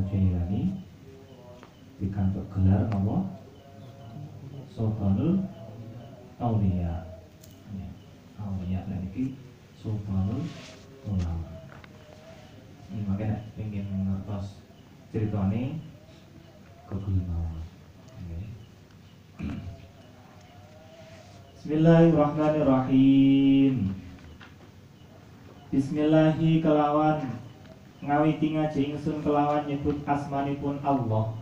Jailani dikantuk gelar napa Sultanul Auliya. Auliya lan iki Sultanul Ulama. Ini makanya pengen ngertos ceritane kegul mawon. Bismillahirrahmanirrahim. Bismillahi kelawan ngawiti ngaji ingsun kelawan nyebut asmanipun Allah.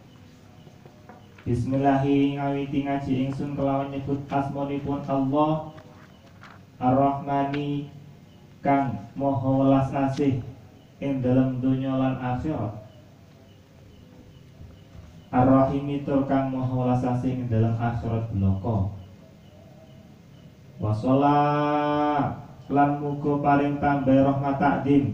Bismillahi ngawiti ngaji ingsun kelawan nyebut asmanipun Allah Ar-Rahmani kang maha welas asih ing dalam dunya lan akhirat. Ar-Rahimi tur kang maha welas asih ing dalam akhirat bloko. Wa shollat lan muga paring tambah rahmat takdim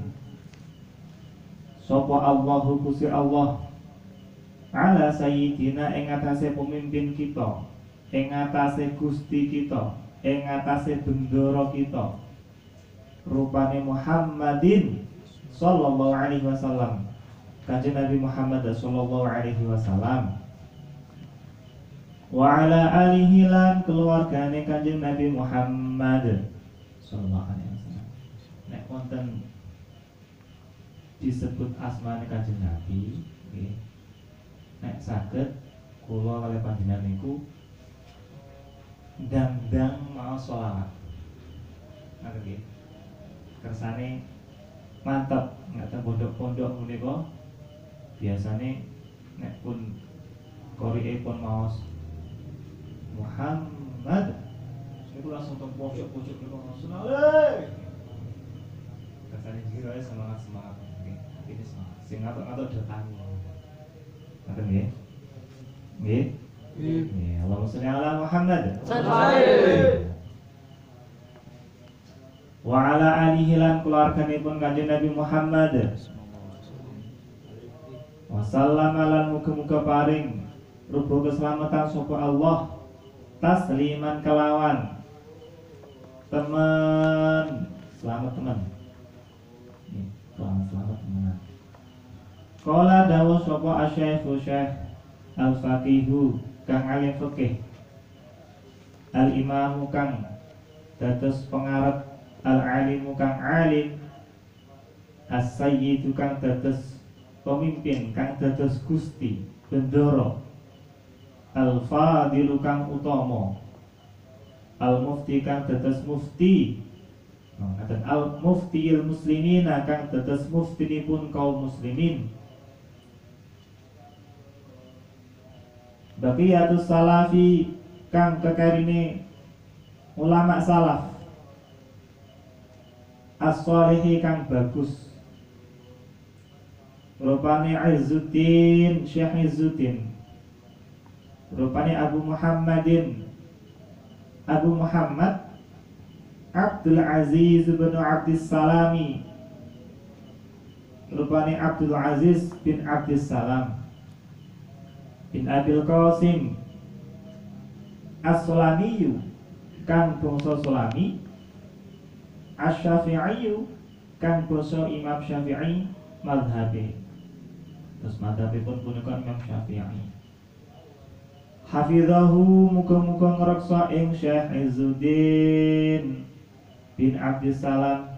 sapa Allahu Gusti Allah ala sayyidina ing atase pemimpin kita, ing atase Gusti kita, ing atase bendoro kita, rupane Muhammadin sallallahu alaihi wasallam, kanjeng Nabi Muhammad sallallahu alaihi wasallam, wa ala alihi lan keluargane kanjeng Nabi Muhammad sallallahu alaihi wasallam. Nek wonten disebut asmane kanjeng Nabi, nggih. Nek saged kula kalih panjenengan niku ndang-ndang maos sholawat. Ngoten nggih. Kersane mantep, ngaten pondok-pondok menika biasane nek pun qori'e pun maos Muhammad niku langsung teng pojok-pojok niku langsung ale. Kersane jiro semangat-semangat nggih. Ini semangat. Sing ngatok-ngatok datang. Ngoten nggih. Nggih. Nggih. Allahumma sholli ala Muhammad. Wa ala alihi lan keluarganipun kanjeng Nabi Muhammad. Wa sallama lan muga-muga paring rupa keselamatan sapa Allah tasliman kelawan teman selamat teman. Selamat teman. Qala dawu sapa asy-syaikhu Syekh al-faqihu kang alim fikih, al-imamu kang dados pengarep, al-alimu kang alim, as-sayyidu kang dados pemimpin, kang dados gusti bendoro, al-fadilu kang utama, al-mufti kang dados mufti, al-muftiil muslimina kang dados muftinipun kaum muslimin, baqiyatus salafi kang kekarine ulama salaf, as-sholihi kang bagus, rupane Izzuddin Syekh Izzuddin, rupane Abu Muhammadin Abu Muhammad Abdul Aziz bin Abdis Salami, rupane Abdul Aziz bin Abdis Salam bin Abil Qasim As-Sulamiyu kang bangsa Sulami, Asy-Syafi'iyu kang bangsa Imam Syafi'i mazhabe. Terus mazhabipun punika Imam Syafi'i. Hafizahu muga-muga ngreksa ing Syekh Izzuddin bin Abdis Salam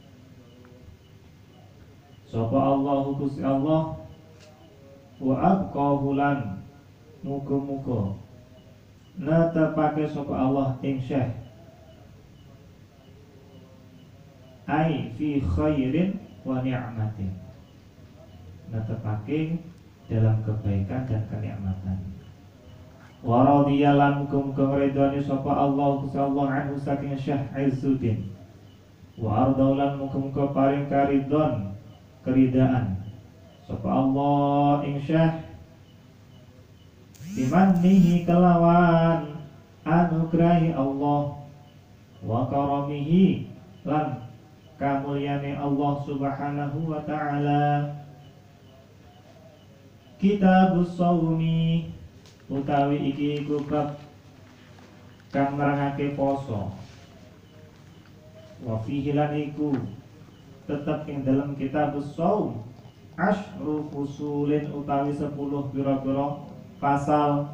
sapa Allahu Gusti Allah, wa abqahu lan muga-muga netepake sapa Allah ing Syekh ai fi khairin wa ni'matin, netepake dalam kebaikan dan kenikmatan. Wa radhiyalan muga-muga ngridhani sapa Allah Gusti Allah anhu saking Syekh Izzuddin, wa ardaulan muga-muga paring karidhon keridaan sapa Allah ing Syekh bimannihi kelawan anugrahi Allah, wa karamihi lan kamulyane Allah subhanahu wa ta'ala. Kitabus shaumi utawi iki iku bab kang nerangake poso, wa fihi lan iku tetep ing dalam kitabus shaum asyru fusulin utawi 10 pira-pira pasal.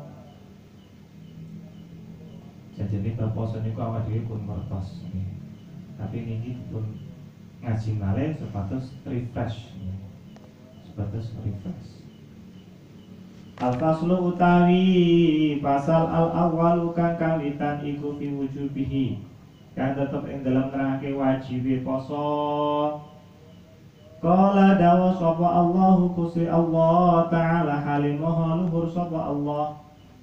Jadi ini berposo niku awak dhewe pun mertos nggih. Tapi niki pun ngaji malih sepatus refresh nggih. Sepatus refresh. Al-faslu utawi pasal al-awwalu kang kawitan iku fi wujubihi. Kang tetep ing dalam nerangake wajibe poso. Qala dawa sapa Allahu kusi Allah Ta'ala halimaha luhur sapa Allah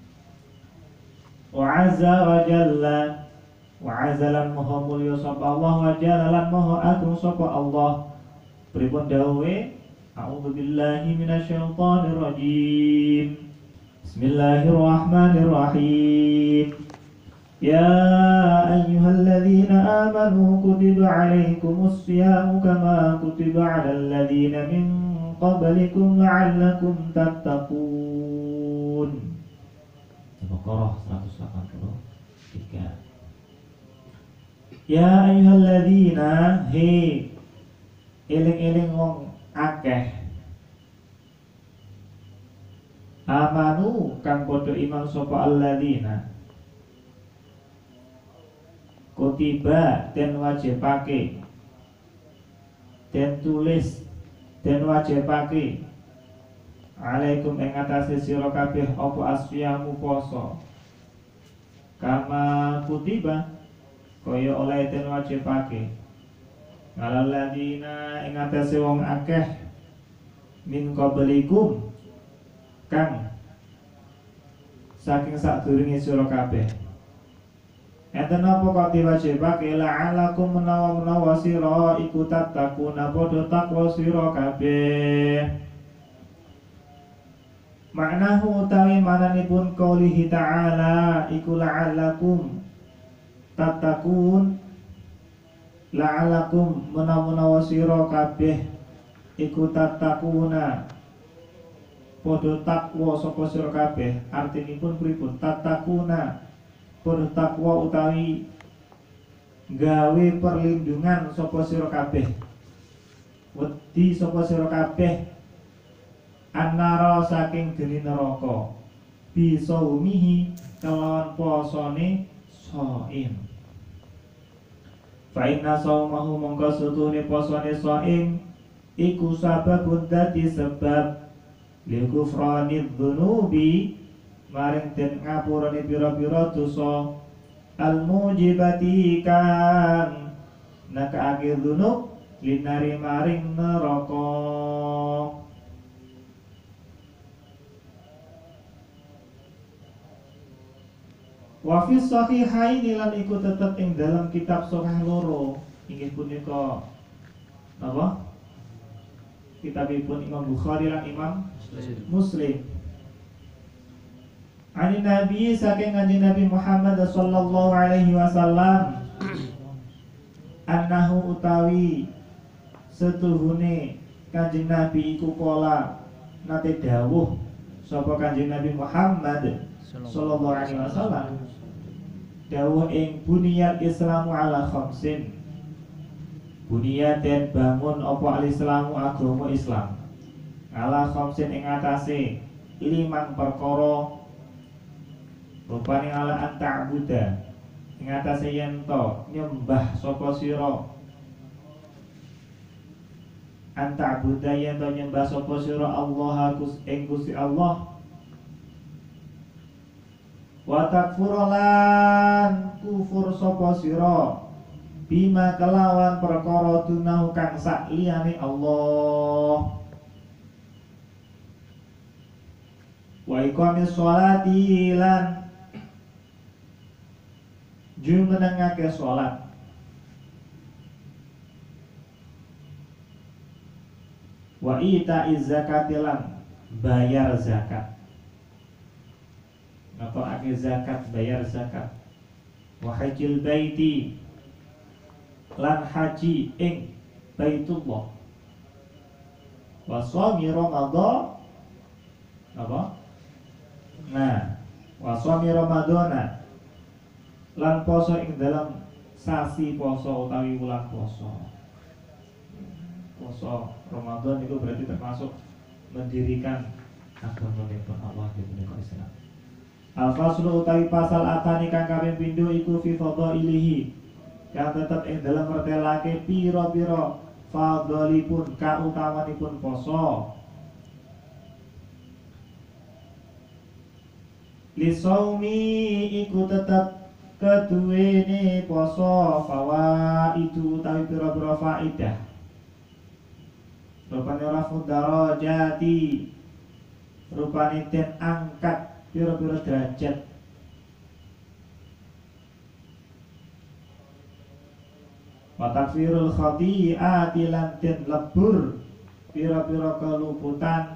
wa azza wa jalla wa azalan maha mulya sapa Allah wa jalalan maha agung sapa Allah. Pripun dawuhe? A'udzu billahi minasyaitonir rajim. Bismillahirrahmanirrahim. Ya ayyuhalladzina amanu kutiba alaikumus siyamu kama kutiba alal ladzina min qablikum la'allakum tattaqun. Al-Baqarah 183. Ya ayyuhalladzina he eling-eling wong akeh amanu kang padha iman sapa alladzina kutiba den wajibake den tulis den wajibake alaikum ing atase sira kabeh apa asyamu poso kama kutiba kaya oleh den wajibake alal ladina ing atase wong akeh min qablikum kang saking sadurunge sira kabeh. Enten apa kok diwajibake la'alakum menawa sira iku tattaquna padha takwa sira kabeh. Maknahu utawi mananipun qaulihi ta'ala iku la'alakum tattaqun la'alakum menawa sira kabeh iku tattaquna padha takwa sapa sira kabeh. Artinipun pripun? Tattaquna padha takwa utawi gawe perlindungan sapa sira kabeh. Wedi sapa sira kabeh annara saking geni neraka bisa umihi kelawan posone shaim. Fa inna saumahu mongko sutune posone shaim iku sababun dadi sebab likufranid dzunubi maring den ngapurane pira-pira dosa al-mujibati kan nakaake dzunub linari maring neraka. Wa fi sahihaini lan iku tetep ing dalam kitab sahih loro inggih punika napa? Kitabipun Imam Bukhari lan Imam Muslim. Ani Nabi saking kanjeng Nabi Muhammad sallallahu alaihi wasallam annahu utawi setuhune kanjeng Nabi iku pola nate dawuh sapa kanjeng Nabi Muhammad sallallahu alaihi wasallam dawuh ing buniyal islamu ala khamsin. Buniyat den bangun apa al-islamu agama Islam ala khamsin ing atase 5 perkara. Rupane ala anta'buda ing atase yen to nyembah sapa sira. Anta'buda yen to nyembah sapa sira Allah ing Gusti Allah. Wa takfurulan kufur sapa sira bima kelawan perkara dunahu kang sak liyane Allah. Wa iqamis sholati lan jumenengake salat. Wa ita'iz zakati lan bayar zakat. Ngatokake zakat, bayar zakat. Wa hajjil baiti lan haji ing Baitullah. Wa shaumi Ramadan apa? Nah, wa shaumi Ramadana lan poso ing dalam sasi poso utawi wulan poso. poso Ramadan itu berarti termasuk mendirikan agama pun Allah di dunia Islam. Al-faslu utawi pasal atani kang kaping pindho iku fi fadhailihi, kang tetep ing dalem mertelake pira-pira fadhalipun kautamanipun poso. Lisaumi iku tetep keduwene poso fawaidu utawi pira-pira faidah. Rupane rafu darajati, rupane den angkat pira-pira derajat. Wa takfirul khati'ati lan den lebur pira-pira keluputan.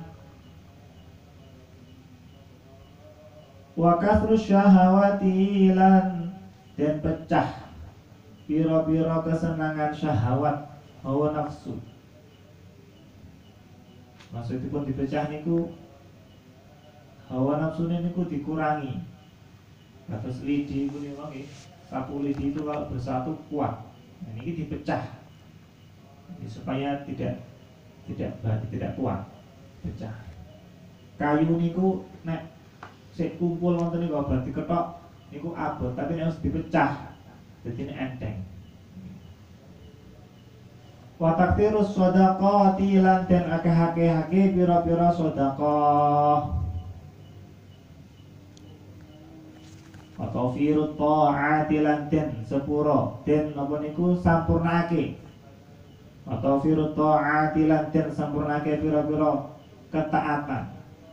Wa kasru syahawati lan den pecah pira-pira kesenangan syahwat hawa nafsu. Maksudipun dipecah niku hawa nafsu niku dikurangi. Kados lidi niku nggih, sapu lidi itu kalau bersatu kuat. Nah, ini dipecah. Jadi supaya tidak kuat, pecah. Kayu niku nek sik kumpul wonten niku berarti ketok niku abot, tapi nek harus dipecah dadi enteng. Wa taktirus shadaqati lan den akeh-akehake pira-pira sedekah. Atau firut ta'ati lan den sepuro den napa niku sampurnake. Atau firut ta'ati lan den sampurnake pira-pira ketaatan.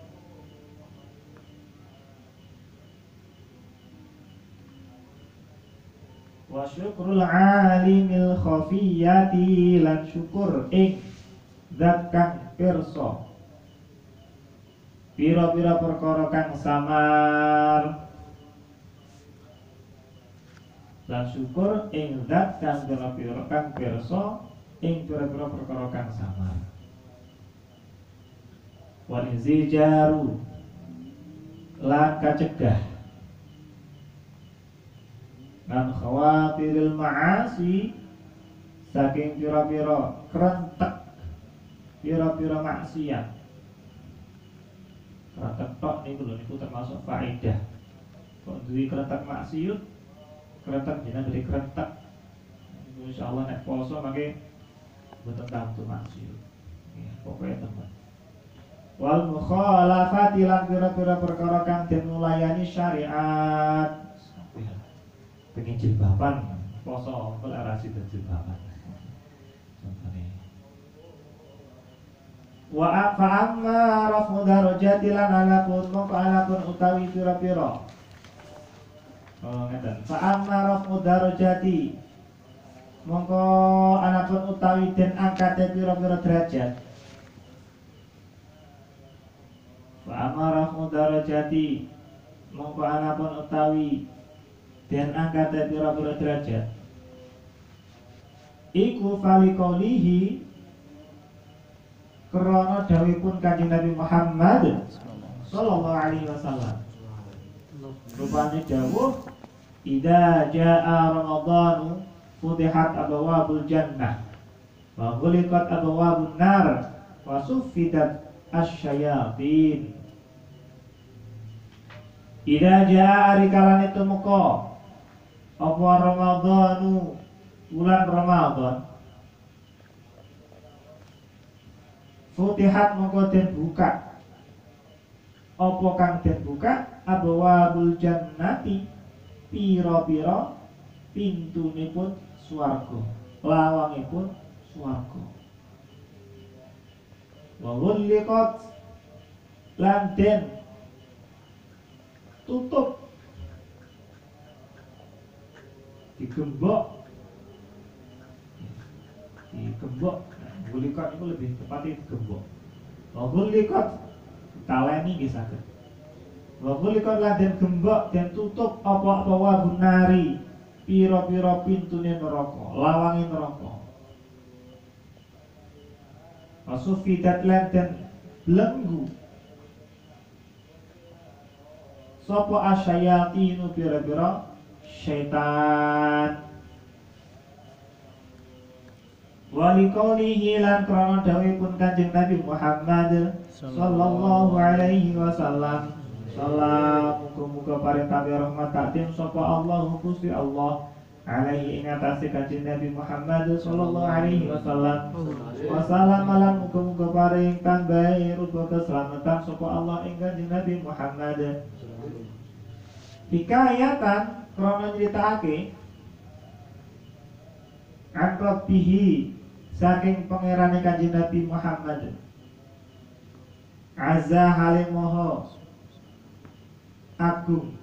Wa syukrul alimil khafiyati lan syukur ing zat kang pirsa pira-pira perkara kang samar. Lan syukur ing zat kang pira-pira kang pirsa ing pira-pira perkara kang samar. Wal inzijaru lan kacegah lan khawatiril ma'asi saking pira-pira krentek pira-pira maksiat. Krentek tok niku lho niku termasuk faedah. Kok duwe krentek maksiat, krentek jenengan dari krentek. Insyaallah nek poso mangke mboten tamtu maksiat. Ya, pokoke temen. Wal mukhalafati lan pira-pira perkara kang den mulayani syariat. Pengen jilbaban poso kok ora sida jilbaban. Contone. Wa amma rafu darajati lan alapun utawi pira-pira. Oh ngeten. Fa amma rafu darajati mongko anapun utawi den angkate pira-pira derajat. Fa amma rafu darajati mongko anapun utawi den angkate pira-pira derajat. Iku falikolihi krana dawuhipun Kanjeng Nabi Muhammad sallallahu alaihi wasallam. Rupane dawuh idza jaa ramadhanu futihat abwabul jannah wa ghuliqat abwabun nar wa suffidat asyayatin. Idza jaa arikalane tumeka apa Ramadhanu bulan Ramadan futihat mongko den buka apa kang den buka abwabul jannati pira-pira pintunipun swarga lawangipun swarga wa ghulliqat lan den tutup digembok gulikat itu lebih tepatnya digembok. Wa gulikat taleni nggih saged. Wa gulikat lan den gembok den tutup apa-apa wabun nari pira-pira pintune neraka, lawange neraka. Wa sufidat lan den belenggu sapa asyayatinu pira-pira syaitan. Wali qaulihi lan krana dawuhipun Kanjeng Nabi Muhammad sallallahu alaihi wasallam. Salam muga-muga paring tabi rahmat takdim sapa Allah Gusti Allah alaihi ing atase Kanjeng Nabi Muhammad sallallahu alaihi wasallam. Wassalam lan muga-muga paring tambahi rupa keselamatan sapa Allah ing Kanjeng Nabi Muhammad. Hikayatan krana nyritakake an rabbihi saking pangerane Kanjeng Nabi Muhammad. Azza halim moho agung.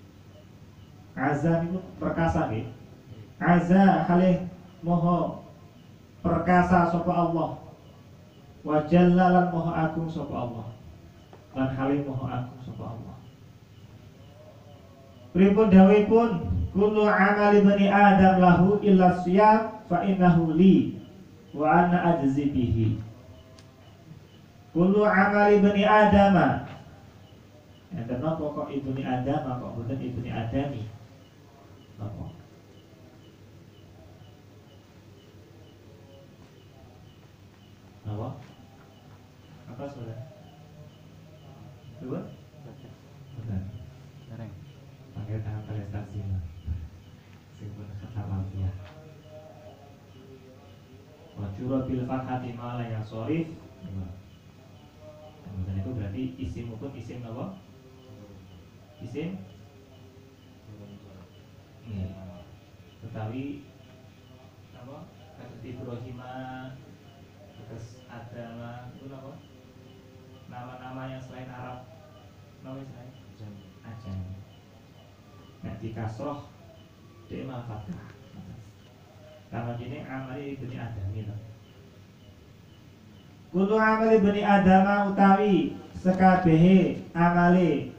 Azza niku perkasa nggih. Azza halih moho perkasa sapa Allah. Wa jalla lan moho agung sapa Allah. Lan halih moho agung sapa Allah. Pripun dawuhipun kullu amali bani adam lahu illa siyam fa innahu li wa ana ajzi bihi. Kullu amali bani adama. Enten napa kok ibni Adam kok boten ibni Adami? Napa? Napa? Apa saudara? Dua? Benar. Bareng. Panggil tangan prestasi. Sing pun kata mafiah. Wa jura bil fathati ma la yasorif. Kemudian itu berarti isim hukum isim apa? Isim Betawi apa? Kata Ibrahimah, terus Adama itu apa? Nama-nama yang selain Arab, nama selain Ajam. Nah di kasroh dia malah fathah. Kalau ini amali ibni Adam itu. Kulo amali ibni Adam utawi sekabehe amali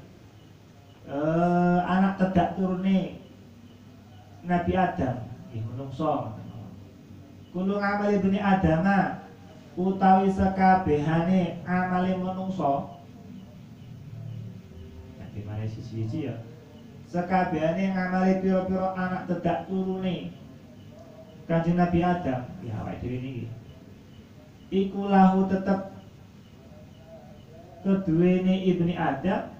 anak tedak turune Nabi Adam nggih menungso. Kulo amali ibni Adam utawi sekabehane amale menungso. Nanti mari siji-siji ya. Sekabehane ngamali pira-pira anak tedak turune Kanjeng Nabi Adam, ya awake dhewe niki. Iku lahu tetep keduwene ibni Adam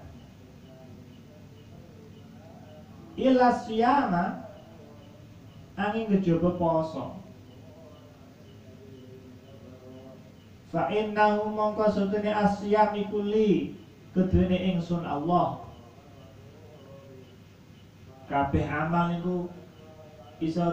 ila siyama angin kejaba poso. Fa innahu mongko sedene asyam iku li keduwene ingsun Allah. Kabeh amal niku iso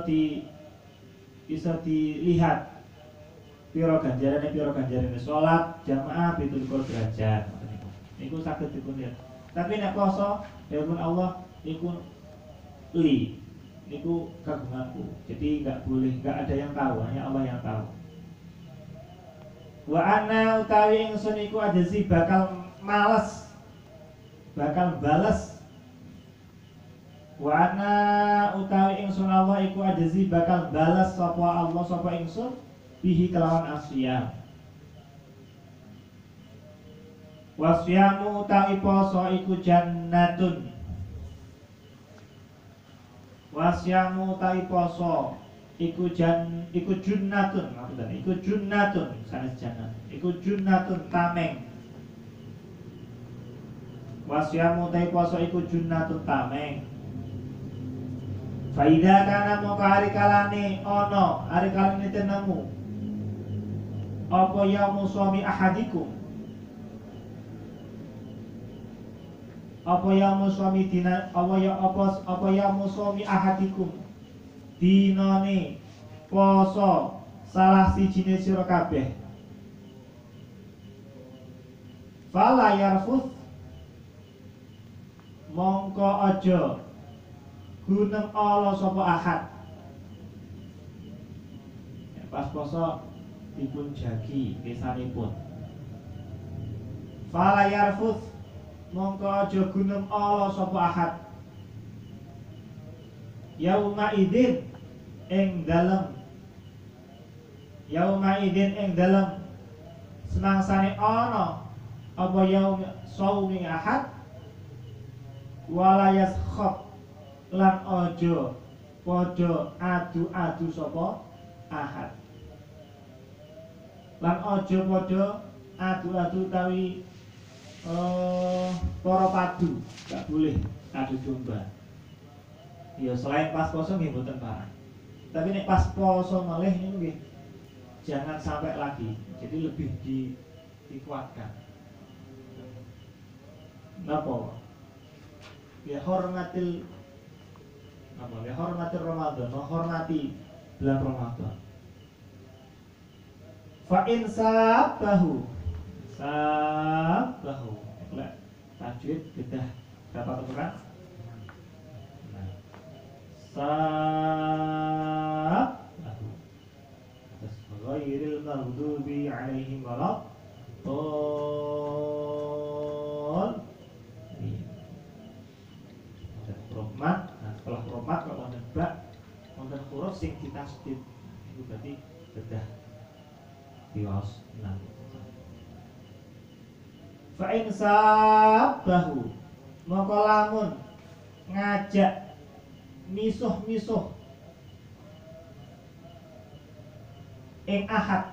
dilihat pira ganjarane salat jamaah 17 derajat niku saged dipun lihat. Tapi nek poso dawuh Allah niku li niku kagunganku. Jadi enggak ada yang tahu, hanya Allah yang tahu. Wa ana utawi ingsun iku ajzi bakal males bakal bales. Wa ana utawi ingsun Allah iku ajzi bakal balas sapa Allah sapa ingsun bihi kelawan asyam. Wasyamu utawi poso iku jannatun. Wasyamu utawi poso iku junnatun, maksudnya iku junnatun sanes jannah. Iku junnatun tameng. Wasyamu utawi poso iku junnatun tameng. Faida kana moko hari kalane ono, hari kalane tenemu. Apa yaumu suami ahadikum? Apa yaumu suami dina apa yaumu suami ahadikum? Dinane poso salah sijine sira kabeh. Fala yarfuth mongko aja gunem Allah sapa ahad. Pas poso dipun jagi kesanipun. Fala yarfuth mongko aja gunem Allah sapa ahad. Yauma idzin ing dalem semangsane ana apa yaum saumi ahad wala yaskhab lan aja padha adu-adu sapa ahad. Lan aja padha adu-adu utawi para padu, gak boleh adu domba. Ya selain pas poso nggih mboten parah. Tapi nek pas poso malih niku nggih jangan sampai lagi. Jadi lebih dikuatkan. Napa? Ya hormatil apa? Ya hormatil Ramadan, hormati bulan Ramadan. Fa in sabahu lek tajwid bedah berapa ukuran? Sabahu terus ghairil maghdubi alaihim waladdallin. Rohmat, nah setelah rohmat kalau wonten bak wonten huruf sing ditasdid itu berarti bedah diwaos. Nah fa in sabahu maka lamun ngajak misuh-misuh ing ahad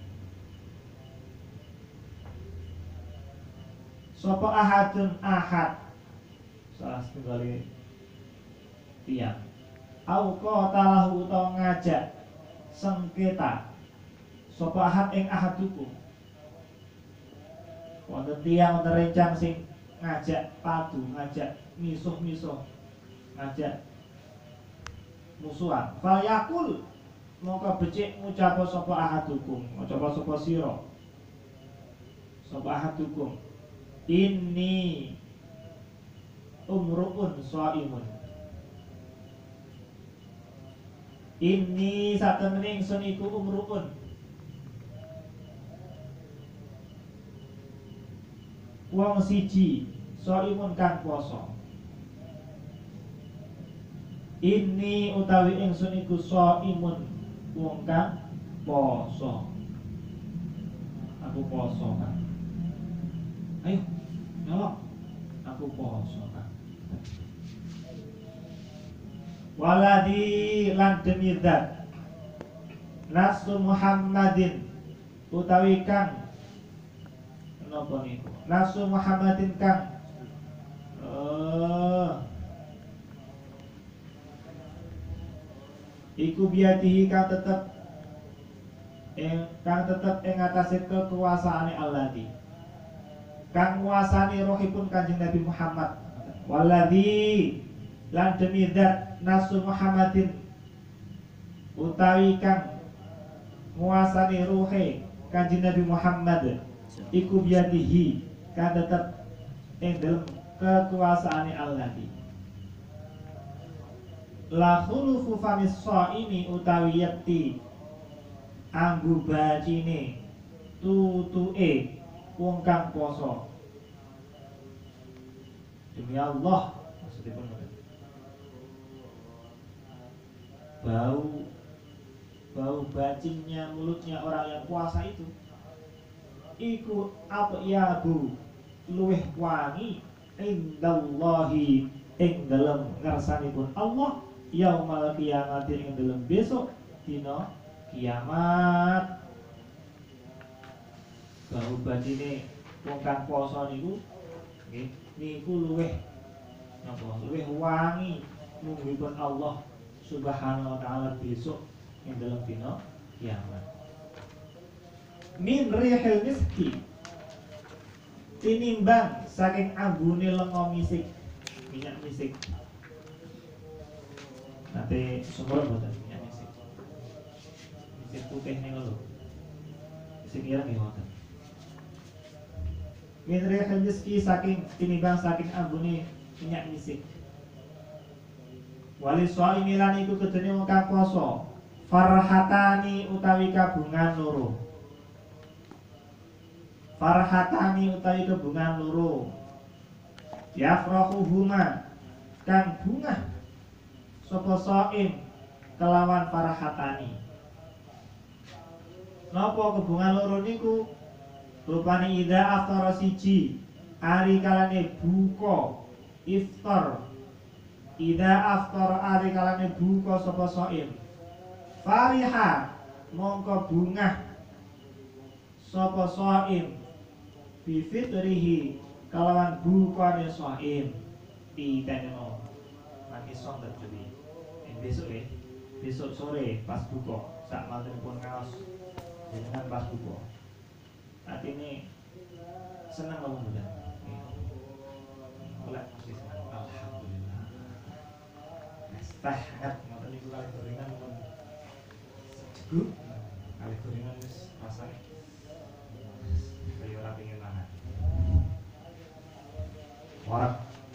sapa ahadun ahad salah setunggal tiyang au qatalahu utawa ngajak sengketa sapa ahad ing ahadukum wonten tiyang wonten rencang sing ngajak padu, ngajak misuh-misuh, ngajak musuhan. Fal yakul mongko becik ngucap sapa ahadukum, ngucap sapa sira. Sapa ahadukum inni umruun shaimun. Inni satemene ingsun iku umruun wong siji shaimun kang poso. Ini utawi ingsun iku shaimun wong kang poso. Aku poso kan. Ayo nyolok. Aku poso kan. Waladi lan demi zat nafsu Muhammadin utawi kang napa niku nafsu Muhammadin kang iku biadihi kang tetep ing atase kekuasaane Alladzi kang nguasani rohipun Kanjeng Nabi Muhammad. Walladzi lan demi zat nafsu Muhammadin utawi kang nguasani ruhe Kanjeng Nabi Muhammad iku biadihi kan tetep ing dalem kekuasaane Alladzi. La khulufu famis shaimi utawi yakti anggu bacine tutuke wong kang poso. Demi Allah maksudipun bau bacinnya mulutnya orang yang puasa itu iku apa ya bu luweh wangi indallahi ing dalem ngarsanipun Allah yaumal kiamat ing dalem besok dina kiamat. Bau bacine wong kang poso niku nggih niku luweh napa luweh wangi nunggipun Allah Subhanahu wa taala besok ing dalem dina kiamat. Min rihil miski tinimbang saking ambune lenga misik, minyak misik. Nanti sumber boten minyak misik. Misik putih niku lho. Misik ireng nggih wonten. Min rihil miski saking tinimbang saking ambune minyak misik. Wali shaimi lan iku kedene wong kang poso. Farhatani utawi kabungan loro. Farhatani utawi kebungan loro yafrahuhuma kang bungah sapa shaim kelawan farhatani. Napa kebungan loro niku? Rupane ida aftara siji ari kalane buka iftar. Ida aftara ari kalane buka sapa shaim fariha mongko bungah sapa shaim bi fitrihi kalawan bukane shaim titeno nanti son terjadi besok besok sore pas buka sak mantenipun ngaos jenengan pas buka artine seneng apa mboten oleh mesti seneng alhamdulillah tah hangat ngoten niku kalih gorengan pun sejuk kalih gorengan wis rasane kaya ora pengen mangan warak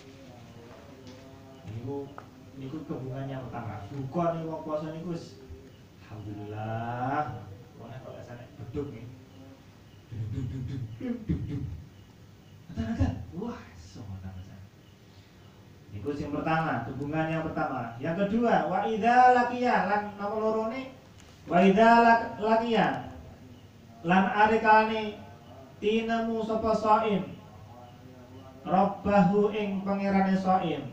niku kebungannya pertama buka nih wong puasa niku wis alhamdulillah wong kok rasane beduk nih agak wah semoga rasane niku sing pertama hubungan yang pertama yang kedua wa idza laqiya lan nomor lorone wa idza laqiya lan arekane tinemu sapa shaim rabbahu ing pangerane shaim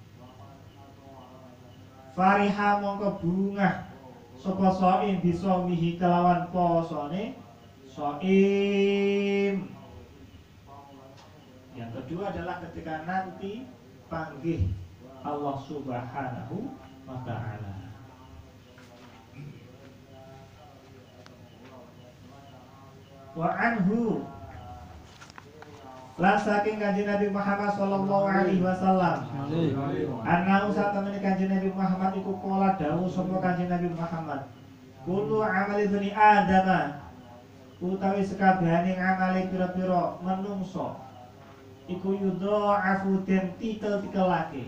fariha mongko bungah sapa shaim bisa mihi kelawan posone shaim. Yang kedua adalah ketika nanti panggih Allah Subhanahu wa ta'ala. Wa anhu lan saking Kanjeng Nabi Muhammad sallallahu alaihi wasallam ana usah temene Kanjeng Nabi Muhammad iku kala dawuh sapa Kanjeng Nabi Muhammad kullu amali bani Adam utawi sekabehane ngamali pira-pira menungso iku yudha'afu den tikel-tikelake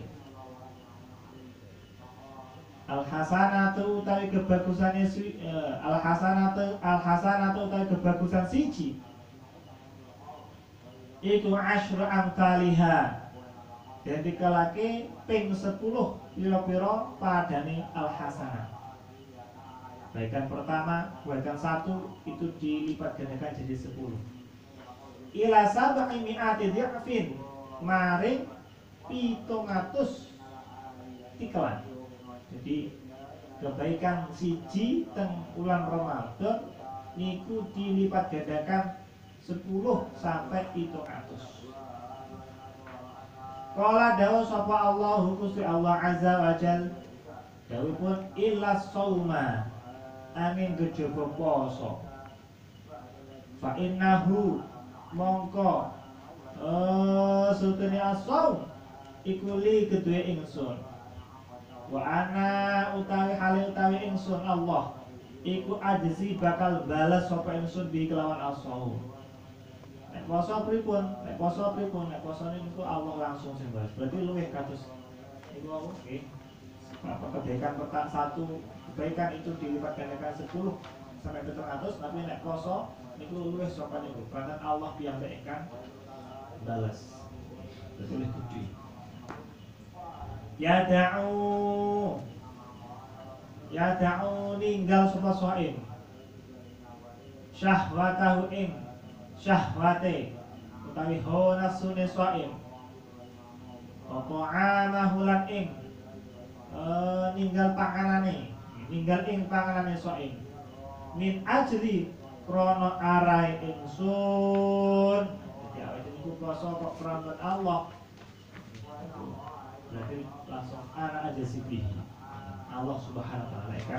al hasanatu utawi kebagusane al hasanatu utawi kebagusan siji iku asyru amthaliha dan dikelake ping 10 pira-pira padane al hasanah. Kebaikan pertama, kebaikan 1 itu dilipat gandakan jadi 10 ila sab'i mi'ati dhi'fin maring 700 tikelan. Jadi kebaikan siji teng bulan Ramadan niku dilipat gandakan 10 sampai 700. Qala dawuh sapa Allahu Gusti Allah azza wa jal dawuhipun illa shauma angin kejaba poso fa innahu mongko sutune as-shaum iku li kedue ingsun wa ana utawi hale utawi ingsun Allah iku ajzi bakal balas sapa ingsun bi kelawan as-shaum. Nek poso pripun? Nek poso niku Allah langsung sing balas. Berarti luwih kados niku apa? Nggih. Apa kebaikan pertama 1 kebaikan itu dilipat gandakan 10 sampai 700, tapi nek poso niku luwih saka niku. Karena Allah piyambak ingkang balas. Berarti luwih gedhe. Ya da'u ninggal sapa shaim. Syahwatahu ing syahwate utawi hawa nafsune shaim apa amahu lan ing ninggal panganane shaim min ajli krana arahe ingsun. Jadi awake niku poso kok krana Allah berarti langsung ana aja sibih Allah Subhanahu wa ta'ala kan.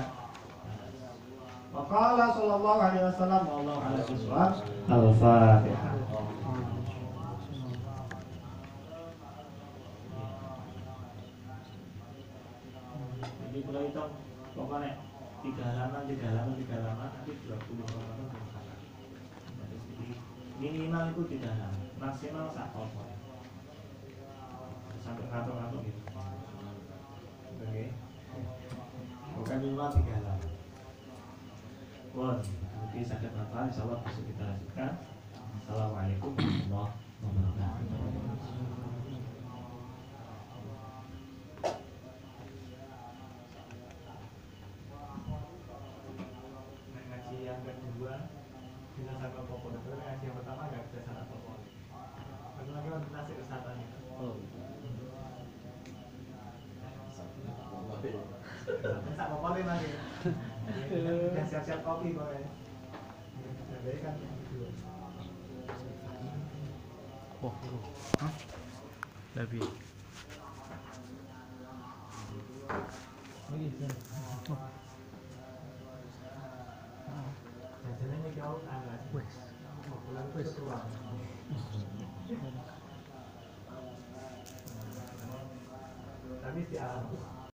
Waqala sallallahu alaihi wasallam wallahu ala bisawab. Al-Fatihah. Jadi kalau itu pokoknya 3 halaman nanti 20 halaman jadi minimal itu 3 halaman maksimal 1 halaman sampai ngatur-ngatur gitu. Oke. Bukan minimal 3 halaman. Mungkin sakit apa, insyaallah bisa kita lanjutkan. Assalamualaikum warahmatullahi wabarakatuh. Ngaji yang kedua bila sampai pokok itu ngaji yang pertama nggak bisa salah pokok. Bagaimana kita nasib kesehatan itu? Tak pokoknya lagi. Siap-siap kopi boleh. Oh, hah? Lebih. Tapi